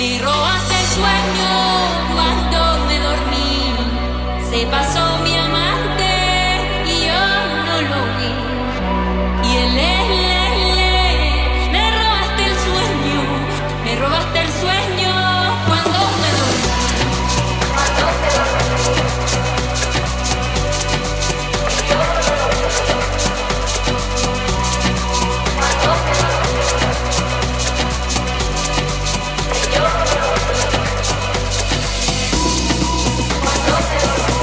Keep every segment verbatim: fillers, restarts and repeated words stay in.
Me robaste el sueño cuando me dormí. Se pasó mi amante y yo no lo vi. Y él, él, él, él, me robaste el sueño, me robaste el sueño cuando me dormí. Cuando me dormí. Yo no lo vi. Cuando me dormí. Yo no lo vi. Cuando me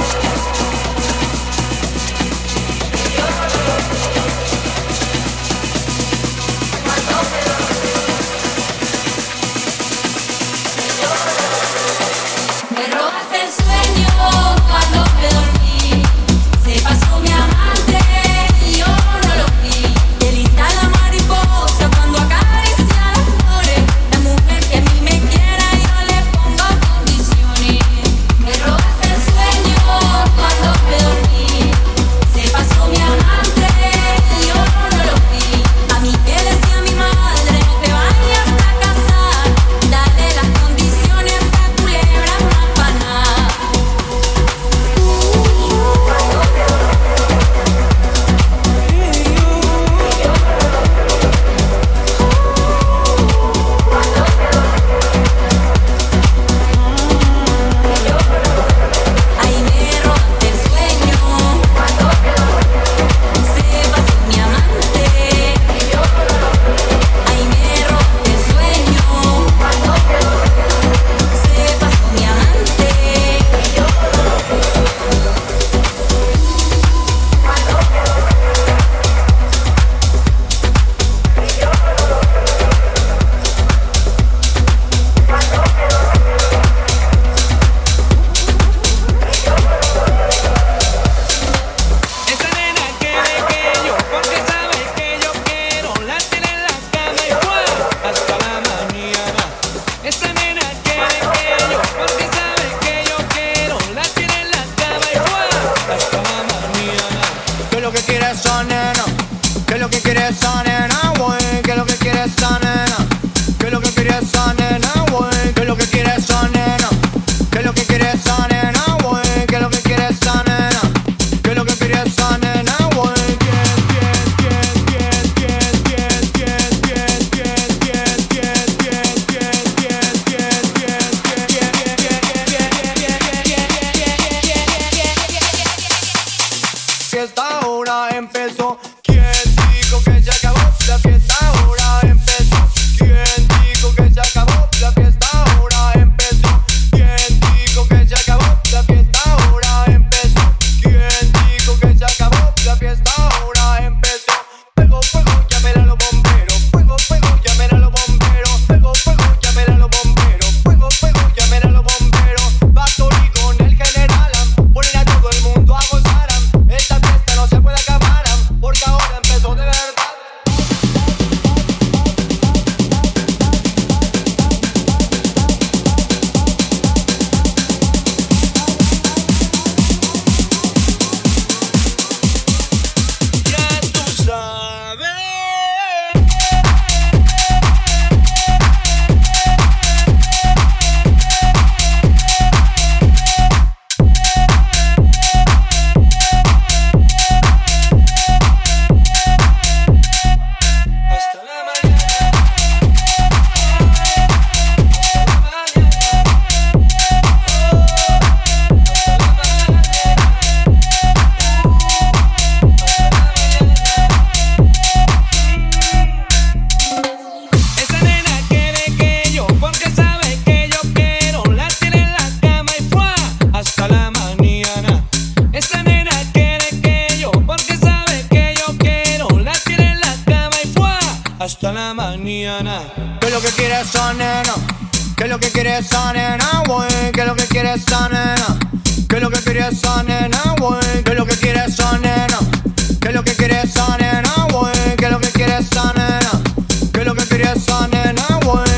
hasta la mañana. ¿Qué es lo que quiere esa nena? ¿Qué es lo que quiere esa nena, güey? ¿Qué es lo que quiere esa nena? ¿Qué es lo que quiere esa nena, güey? ¿Qué es lo que quiere esa nena? ¿Qué es lo que quiere esa nena, güey? ¿Qué es lo que quiere esa nena? ¿Qué es lo que quiere esa nena, güey?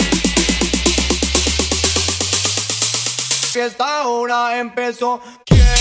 Fiesta ahora empezó. ¿Quién dijo?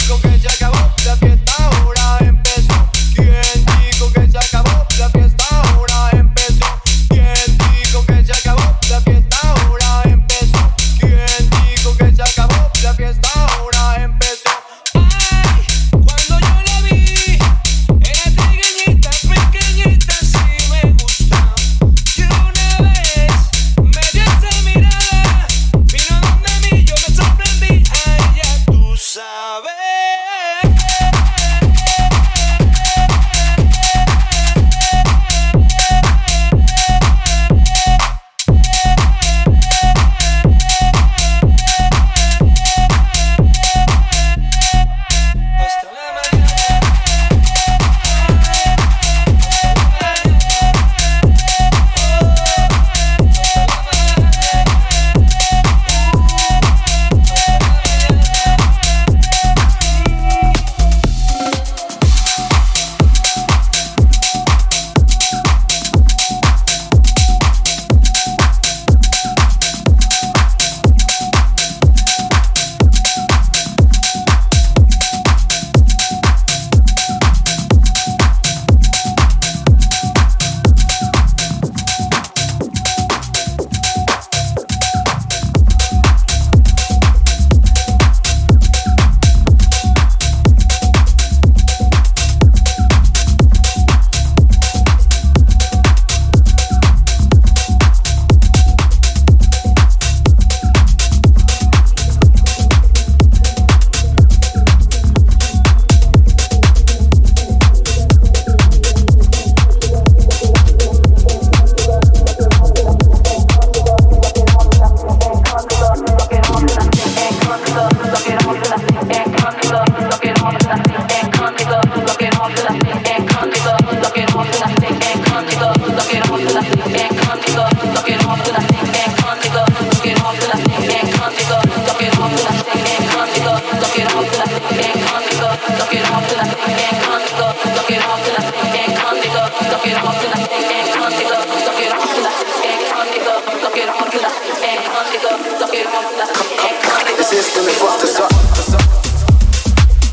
The system is fucked us up.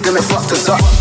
que me fucked us up.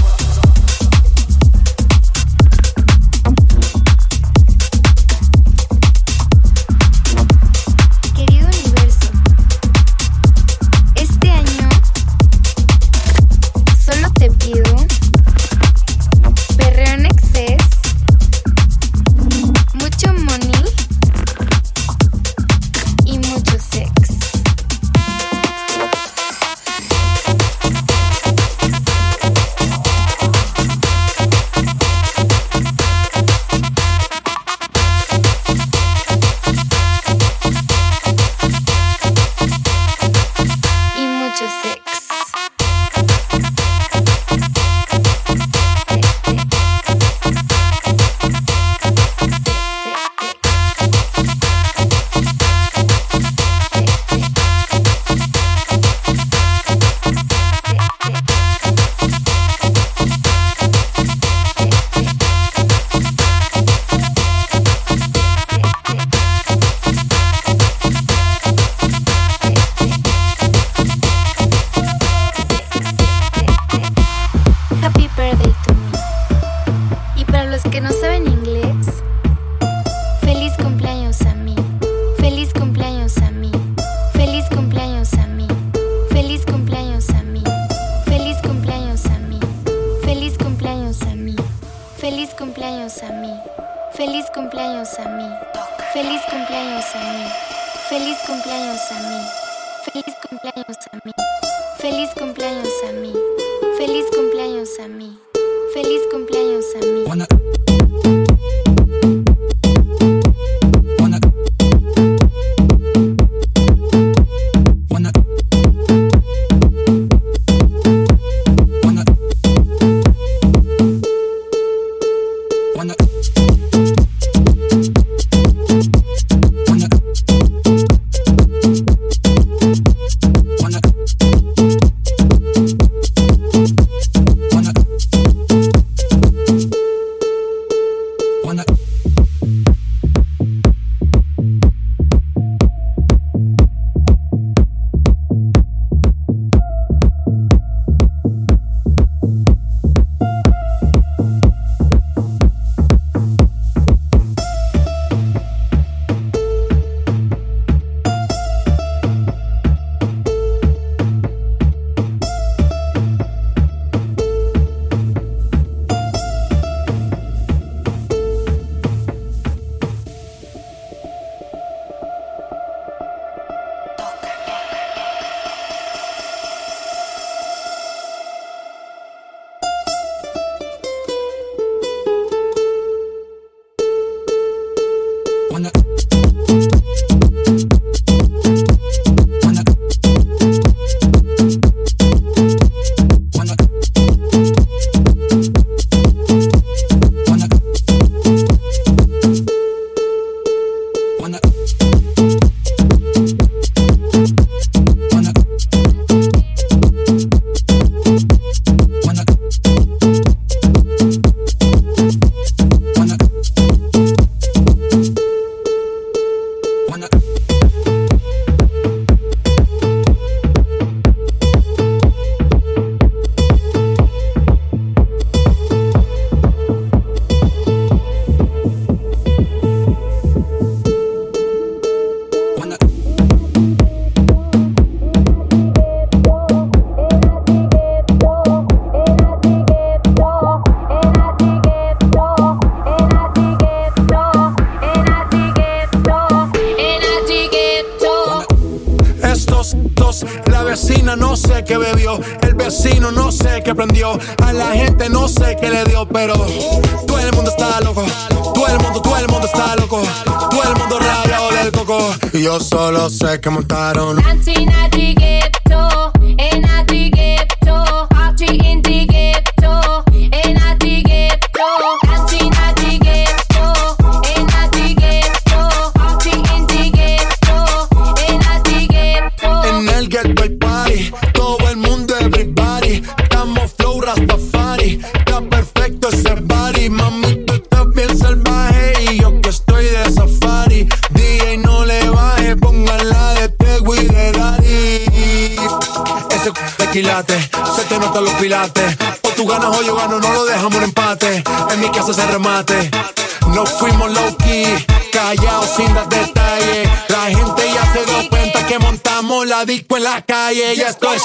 Yo solo sé que montaron Dancing at the ghetto, and at the ghetto, party in the ghetto, and at the ghetto, dancing at the ghetto, and at the ghetto, party in the ghetto, and at the ghetto. En el ghetto hay party, todo el mundo everybody, estamos flow Rastafari, está perfecto ese body, mami tú estás bien salvaje y yo que estoy de safari, D J no le baje, póngala de Tego y de Daddy. quilates, se te notan los pilates. O tú ganas o yo gano, no lo dejamos en empate. En mi casa se remate. Nos fuimos low key, callados sin dar detalles. La gente ya se dio cuenta que montamos la disco en la calle. Ya esto es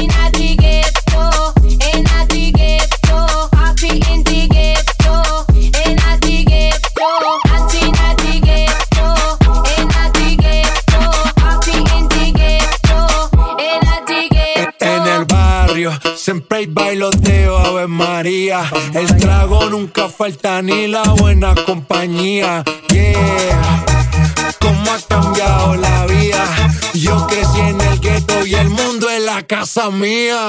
en el barrio, siempre hay bailoteo, Ave María. El trago nunca falta ni la buena compañía. Yeah, cómo ha cambiado la vida. Yo crecí en el gueto y el mundo es la casa mía.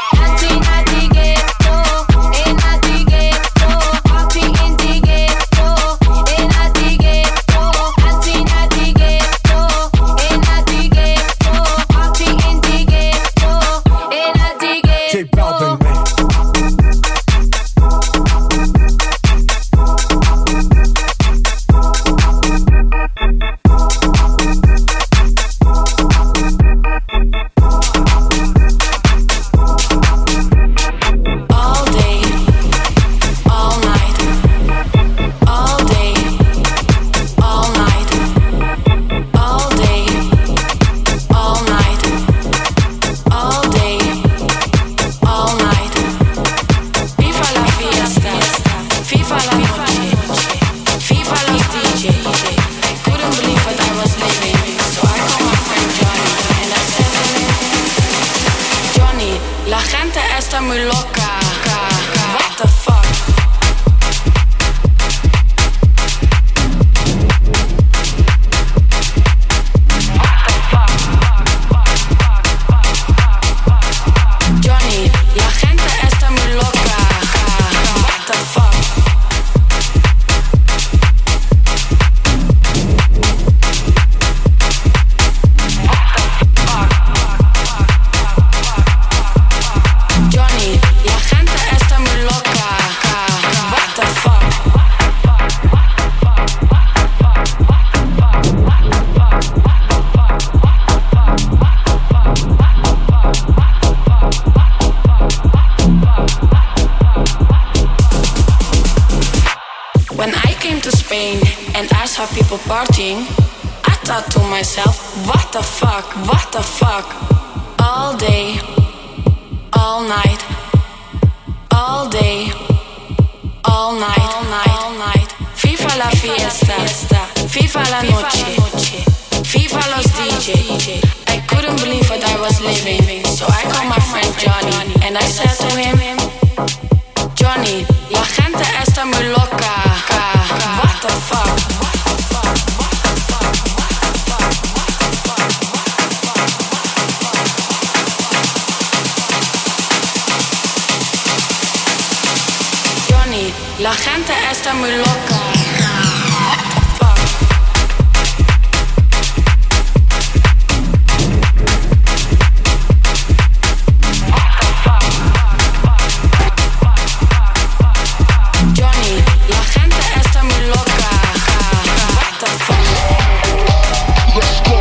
Partying, I thought to myself, what the fuck, what the fuck. All day, all night, all day, all night, all night, all night. FIFA la fiesta, FIFA la noche, FIFA los D J. I couldn't believe what I was living, so I called my friend Johnny and I said to him, Johnny, la gente está muy loca. What the fuck? La gente está muy loca. Johnny, la gente está muy loca. What the fuck? Let's go.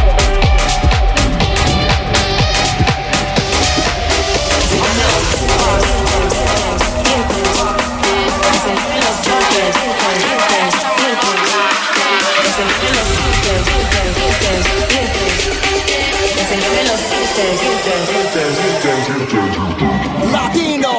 Latino.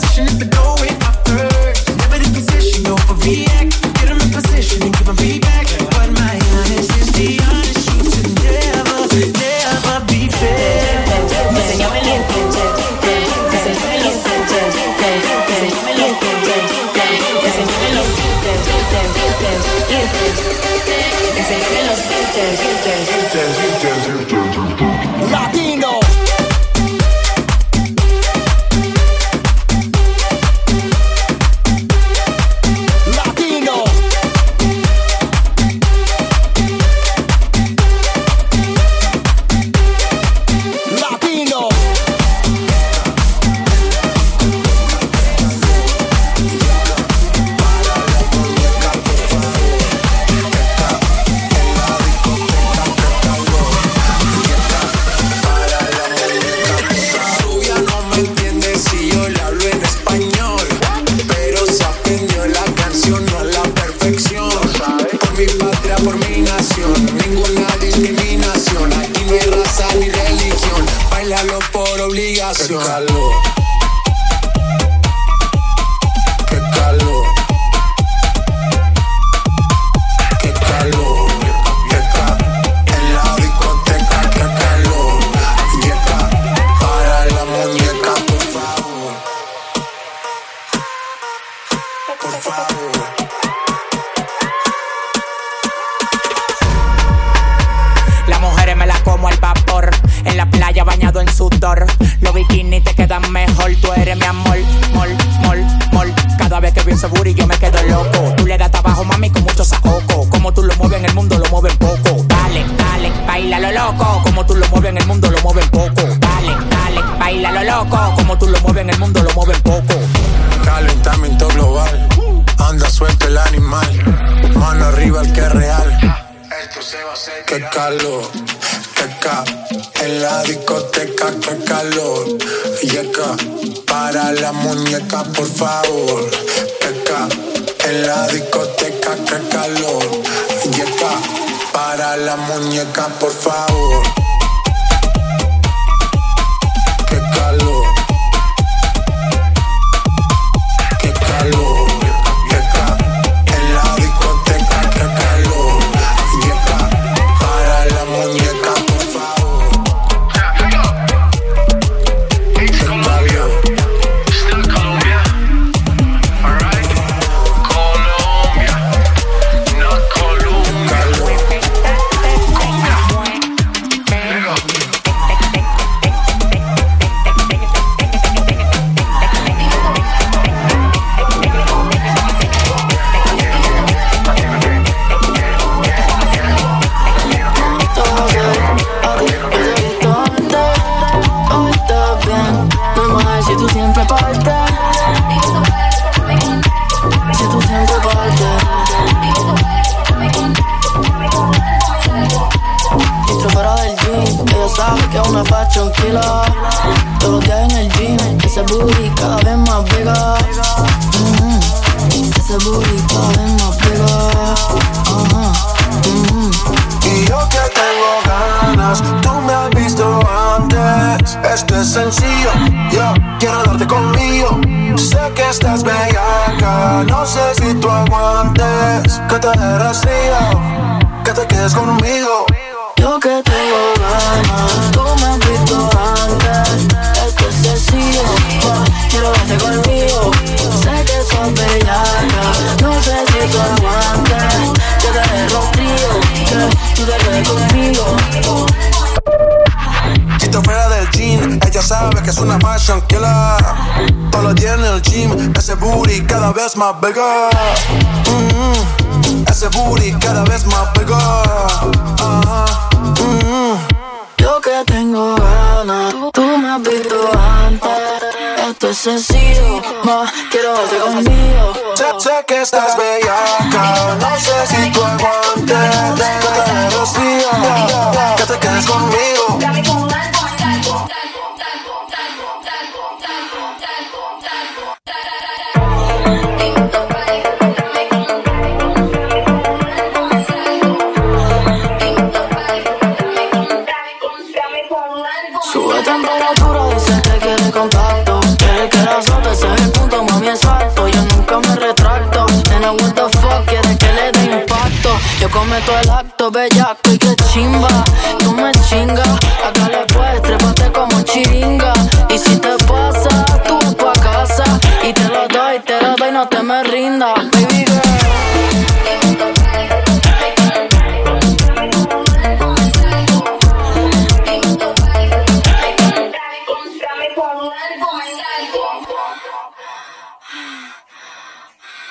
Get 'em in position and give 'em feedback. Latino. Qué calor, qué calor, qué calor, qué calor, en la discoteca, qué calor, yeca, para la muñeca, por favor, por favor. Las mujeres me las como al vapor, en la playa bañado en sudor. Los bikinis te quedan mejor, tú eres mi amor, mol, mol, mol. Cada vez que veo ese booty yo me quedo loco. Tú le das trabajo, mami, con mucho saoco. Como tú lo mueves en el mundo, lo mueves poco. Dale, dale, baila lo loco. Como tú lo mueves en el mundo, lo mueves poco. Dale, dale, baila lo loco. Como tú lo mueves en el mundo, lo mueves poco. Calentamiento global, anda suelto el animal. Mano arriba el que es real. Esto se va a hacer. Qué calor, qué ca. En la discoteca, qué calor. Yeca, para la muñeca, por favor. Qué ca. En la discoteca, qué calor. Yeca, para la muñeca, por favor. Qué calor, qué calor. Yeca, en la discoteca, qué calor. Yeca, para la muñeca, por favor. Todos los días en el gym, ese booty cada vez más pega. Mm-hmm. Ese booty cada vez más pega. Uh-huh. Mm-hmm. Y yo que tengo ganas, tú me has visto antes. Esto es sencillo, yo quiero darte conmigo. Sé que estás bellaca, no sé si tú aguantes. Que te dé rastrillo, que te quedes conmigo. Yo que tengo ganas, tú me has visto antes. Esto es sencillo, ma, quiero darte conmigo. Sé que sos bellaca, no sé si tú aguantes. Que te dé rostrillo, que tú te quedes conmigo. Si te fuera del gym, ella sabe que es una fashion killer. Todos los días en el gym, ese booty cada vez más bigger. Mm-hmm. Ese booty cada vez más bigger. Uh-huh. Mm-hmm. Yo que tengo ganas, tú me has visto antes. Esto es sencillo, ma, quiero darte conmigo. Sé, sé que estás bellaca, no sé si tú aguantes. Que te dé rostrillo, que te quedes conmigo. Sube temperatura, dice que quiere contacto. Quiere que la azote, ese es el punto, mami, exacto. Yo nunca me retracto. Nena, what the fuck, quiere que le dé impacto. Yo cometo el acto, bellaco y que chimba. Tú me chingas, acá le puedes, trépate como chiringa. Y si te pasa, tú vas pa' casa. Y te lo doy, te lo doy, no te me rindas, baby girl.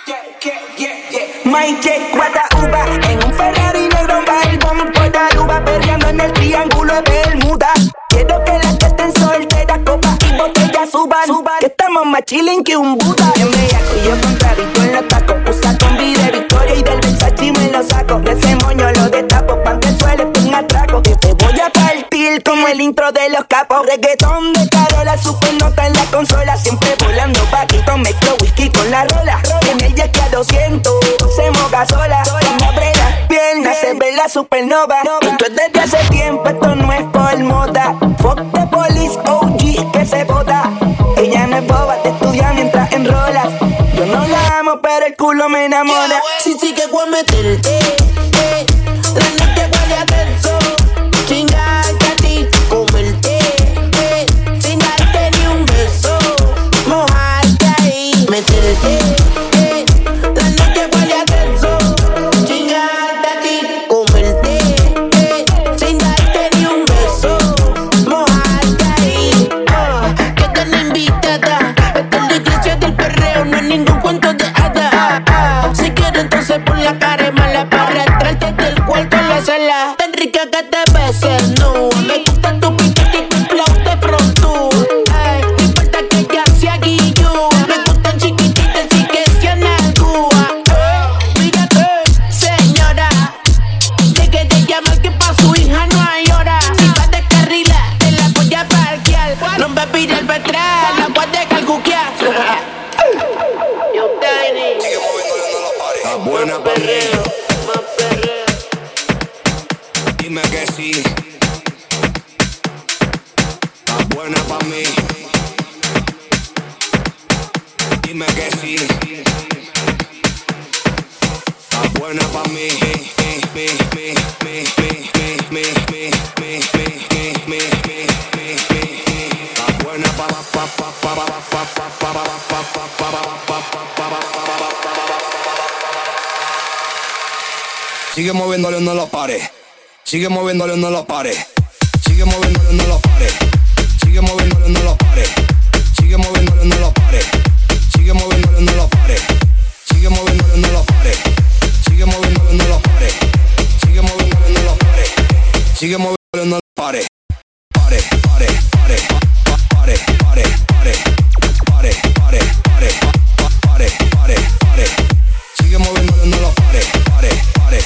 My check, guata uva. En un Ferrari negro va el bomb por Aruba, perreando en el triángulo de Bermuda. Quiero que las que estén solteras, copas y botellas suban, suban. Que estamos más chilling que un Buda. En bellaco y yo contradicto en los tacos. Usa combi de Victoria y del Versace me lo saco. De ese moño lo destapo, pa' que el suelo es un atraco. Que te voy a partir como el intro de los capos. Reggaetón de Carola, super nota en la consola. Siempre volando paquito, mezclo whisky con la rola. En el jet que a doscientos se moja sola. Cuando abre las piernas se ve la supernova. Esto es desde hace tiempo, esto no es por moda. Fuck the police, O G que se bota. Ella no es boba, te estudia mientras enrolas. Yo no la amo, pero el culo me enamora. Sí, sí que voy a meterte, eh, la noche voy a hacer so. Chingarte a ti, comerte, eh, sin darte ni un beso. Mojarte ahí, meterte, eh, la noche voy a hacer so. Chingarte a ti, comerte, eh, sin darte ni un beso. Mojarte ahí, ah, quédate invitada. Esta es la iglesia del perreo, no es ningún cuento de hadas. Ah, ah, si quieres entonces pon la cara mala para entrarte del cuarto a la sala. Tan rica que te beses, no. Me gusta tu piquete y tu flow de frontú. Ay, no importa que ya sea guillú. Me gustan chiquititas y que sean algua. Eh, mírate, señora. Deje de llamar que pa' su hija no hay hora. Si va de carrila, te la voy a parquear. No me pide el betral, la voy a dejar cuquear. Yo, Tiny. Sigue moviéndole no la pared. Está buena pa' mí. Dime que sí. Está buena pa' mí. Dime que sí. Está buena pa' mí. Mi, mi, mi, mi, mi, mi, mi, mi, mi, mi, mi, mi, mi, mi. Está buena pa' pa pa pa pa pa pa pa pa pa pa pa pa pa. Sigue moviéndole, no lo pare. Sigue moviéndole, no lo pare. Sigue moviéndole, no lo pare. Sigue moviéndole, no lo pare. Sigue moviéndole, no lo pare. Sigue moviéndole, no lo pare. Sigue moviéndole, no lo pare. Sigue moviéndole, no lo pare. Sigue moviéndole, no lo pare. Sigue moviéndole, no lo pare. Pare, pare, pare, pare, pare, pare, pare, pare, pare, pare, pare, pare. Sigue moviéndole, no lo pare. Pare, pare,